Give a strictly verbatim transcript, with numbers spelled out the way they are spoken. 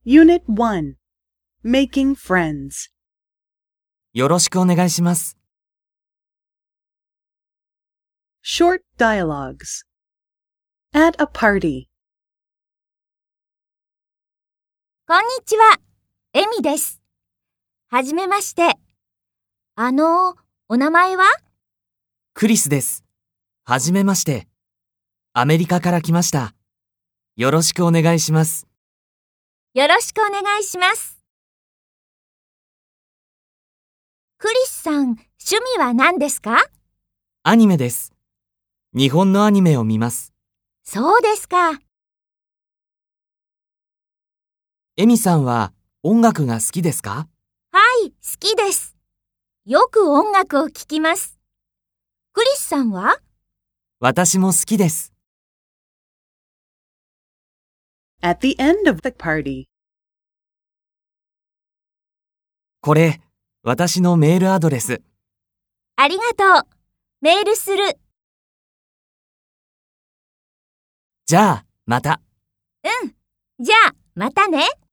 Unit one. Making friends. よろしくお願いします。 Short dialogues. At a party. こんにちは、エミです。はじめまして。あの、お名前は？ クリスです。はじめまして。アメリカから来ました。よろしくお願いします。 よろしくお願いします。クリスさん、趣味は何ですか？ アニメです。日本のアニメを見ます。 そうですか。 エミさんは音楽が好きですか？ はい、好きです。よく音楽を聴きます。クリスさんは？ 私も好きです。 At the end of the party. これ、私のメールアドレス。 ありがとう。メールする。 じゃあ、また。 うん。じゃあ、またね。